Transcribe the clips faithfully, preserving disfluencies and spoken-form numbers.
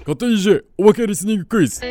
勝手に イージェー おまけリスニングクイズ。 はい、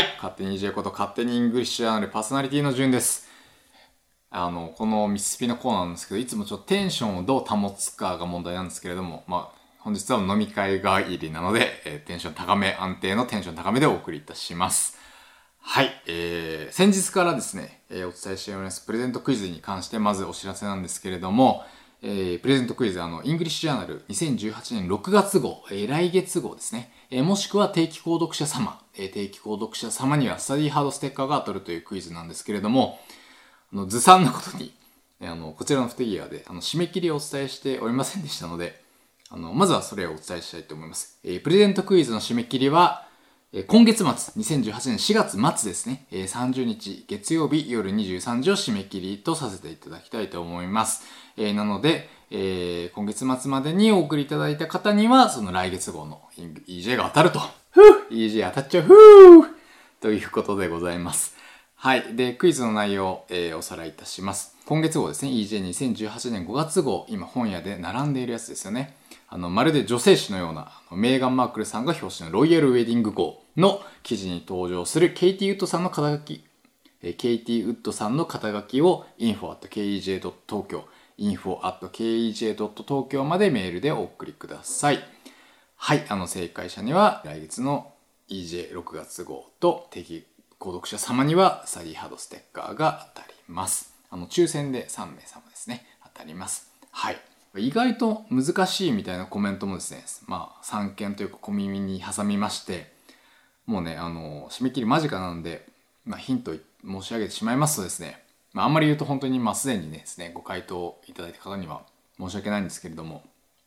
勝手に イージェー こと勝手にイングリッシュジャーナルパーソナリティのじゅんです。あのこのミスピのコーナーなんですけど、いつもちょっとテンションをどう保つかが問題なんですけれども、まあ本日は飲み会が入りなので、えー、テンション高め、安定のテンション高めでお送りいたします。はい、えー、先日からですね、えー、お伝えしておりますプレゼントクイズに関してまずお知らせなんですけれども、えー、プレゼントクイズ、あのイングリッシュジャーナルにせんじゅうはちねんろくがつ号、えー、来月号ですね、えー、もしくは定期購読者様、えー、定期購読者様にはスタディハードステッカーが当たるというクイズなんですけれども、あのずさんなことにあのこちらの不手際であの締め切りをお伝えしておりませんでしたので、あのまずはそれをお伝えしたいと思います。えー、プレゼントクイズの締め切りは今月末、にせんじゅうはちねんしがつ末ですね、さんじゅうにち月曜日夜にじゅうさんじを締め切りとさせていただきたいと思います。えー、なので、えー、今月末までにお送りいただいた方には、その来月号の イージェー が当たると。ふぅ イージェー 当たっちゃうふぅということでございます。はい。で、クイズの内容、えー、おさらいいたします。今月号ですね、イージェーにせんじゅうはちねんごがつ号、今本屋で並んでいるやつですよね。あの、まるで女性誌のような、メーガン・マークルさんが表紙のロイヤルウェディング号の記事に登場するケイティ・ウッドさんの肩書き、ケイティ・ウッドさんの肩書きを インフォ アット ケーイージェー ドット 東京、インフォ アット ケーイージェー ドット 東京までメールでお送りください。はい、あの、正解者には来月の イージェーろくがつ号と定期購読者様にはスタディハードステッカーが当たります。あの、抽選でさんめいさまですね、当たります。はい。意外と難しいみたいなコメントもですね、まあさんけんというか小耳に挟みまして、もうね、あの締め切り間近なんで、まあ、ヒント申し上げてしまいますとですね、まあ、あんまり言うと本当にまあすでにねですねご回答いただいた方には申し訳ないんですけれども、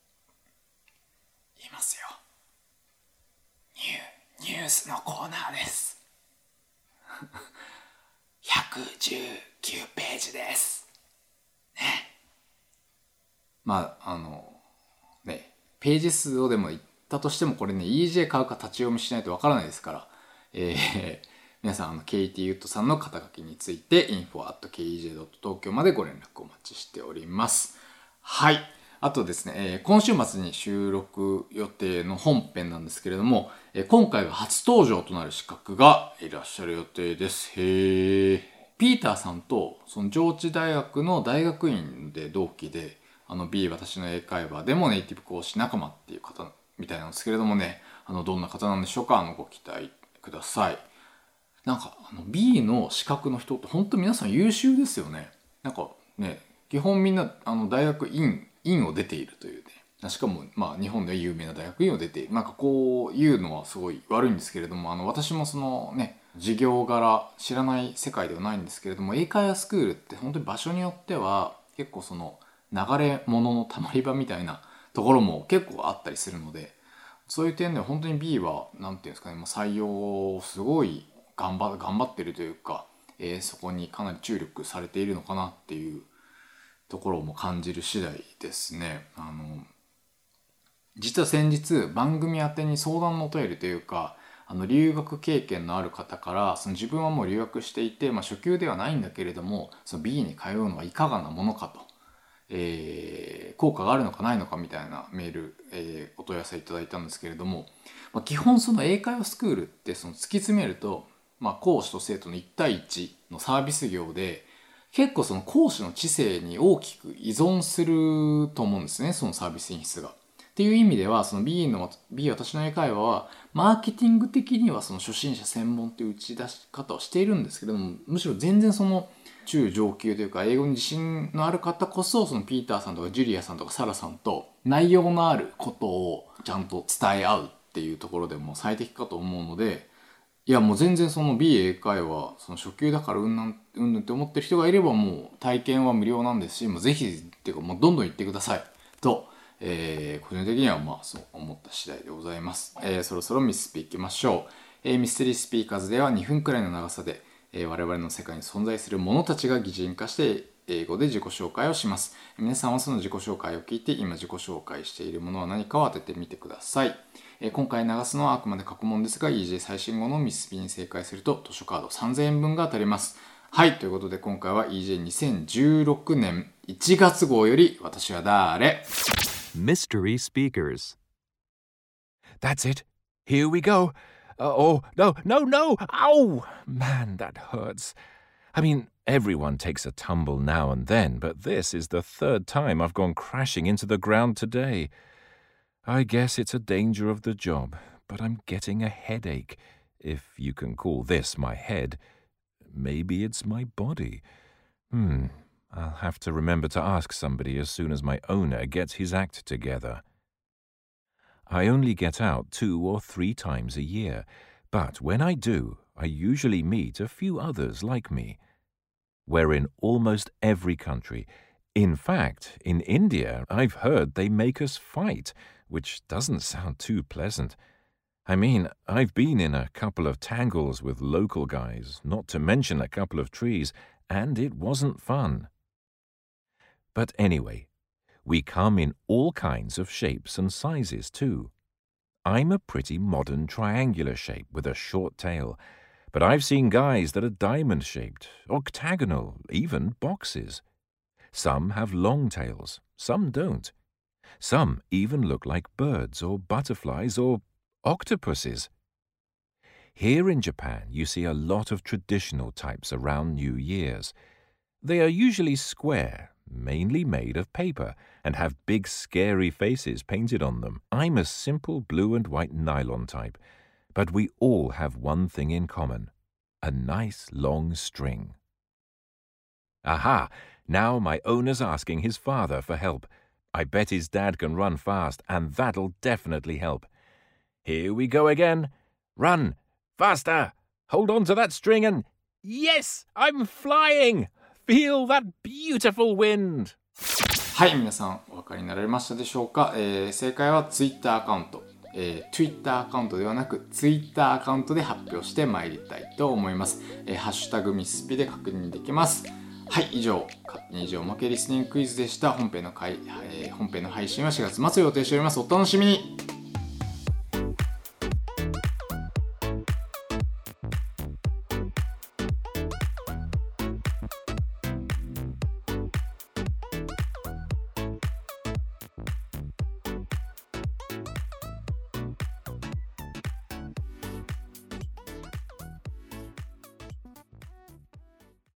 言いますよ。ニューニュースのコーナーです。ひゃくじゅうきゅうページですね。まああのね、ページ数をでも言ったとしても、これね イージェー 買うか立ち読みしないとわからないですから、えー、皆さん、あのケイティ・ウッドさんの肩書きについて インフォ アット ケーイージェー ドット 東京までご連絡お待ちしております。はい。あとですね、えー、今週末に収録予定の本編なんですけれども、えー、今回が初登場となる資格がいらっしゃる予定です。へー。ピーターさんとその上智大学の大学院で同期で、あの B 私の英会話でもネイティブ講師仲間っていう方みたいなんですけれどもね、あのどんな方なんでしょうか。あのご期待ください。なんかあの B の資格の人って本当皆さん優秀ですよね。なんかね、基本みんなあの大学院院を出ているというね、しかもまあ日本で有名な大学院を出ている、なんかこういうのはすごい悪いんですけれども、あの私もそのね授業柄知らない世界ではないんですけれども、英会話スクールって本当に場所によっては結構その流れ物のたまり場みたいなところも結構あったりするので、そういう点では本当に B はなんていうんですかね、採用をすごい頑張頑張ってるというか、えー、そこにかなり注力されているのかなっていうところも感じる次第ですね。あの実は先日番組宛てに相談のお便りというか、あの留学経験のある方から、その自分はもう留学していて、まあ、初級ではないんだけれどもその B に通うのはいかがなものかと、えー、効果があるのかないのかみたいなメール、えー、お問い合わせいただいたんですけれども、まあ、基本その英会話スクールってその突き詰めると、まあ、講師と生徒のいち対いちのサービス業で、結構その講師の知性に大きく依存すると思うんですね、そのサービス品質が。っていう意味ではその B の B 私の英会話はマーケティング的にはその初心者専門という打ち出し方をしているんですけれども、むしろ全然その中上級というか英語に自信のある方こそ、そのピーターさんとかジュリアさんとかサラさんと内容のあることをちゃんと伝え合うっていうところでも最適かと思うので、いやもう全然その B 英会話その初級だからうんなんうんぬんって思ってる人がいれば、もう体験は無料なんですし、もうぜひっていうかもうどんどん行ってくださいと、えー、個人的にはまあそう思った次第でございます。えー、そろそろミスピいきましょう。えー、ミステリースピーカーズではにふんくらいの長さで、えー、我々の世界に存在する者たちが擬人化して英語で自己紹介をします。皆さんはその自己紹介を聞いて今自己紹介しているものは何かを当ててみてください。えー、今回流すのはあくまで過去問ですが イージェー 最新号のミスピに正解すると図書カードさんぜんえんぶんが当たります。はい、ということで今回は イージェーにせんじゅうろくねんいちがつ号より私は誰？ Mystery Speakers. That's it. Here we go. Uh, oh, no, no, no. Ow! Man, that hurts. I mean, everyone takes a tumble now and then, but this is the third time I've gone crashing into the ground today. I guess it's a danger of the job, but I'm getting a headache, if you can call this my head. Maybe it's my body. Hmm, I'll have to remember to ask somebody as soon as my owner gets his act together. I only get out two or three times a year, but when I do, I usually meet a few others like me. We're in almost every country. In fact, in India, I've heard they make us fight, which doesn't sound too pleasant. I mean, I've been in a couple of tangles with local guys, not to mention a couple of trees, and it wasn't fun. But anyway, we come in all kinds of shapes and sizes too. I'm a pretty modern triangular shape with a short tail, but I've seen guys that are diamond-shaped, octagonal, even boxes. Some have long tails, some don't. Some even look like birds or butterflies or octopuses. Here in Japan, you see a lot of traditional types around New Year's. They are usually square, mainly made of paper, and have big scary faces painted on them. I'm a simple blue and white nylon type, but we all have one thing in common, a nice long string. Aha! Now my owner's asking his father for help. I bet his dad can run fast, and that'll definitely help. Here we go again. Run! Faster! Hold on to that string and... Yes! I'm flying! Feel that beautiful wind! はい、皆さんお分かりになられましたでしょうか、えー、正解は Twitter アカウント、えー、Twitter アカウントではなく Twitter アカウントで発表してまいりたいと思います、えー、ハッシュタグミスピで確認できます。はい、以上勝手に以上おまけリスニングクイズでした。本編の回、えー、本編の配信はしがつ末を予定しております。お楽しみに。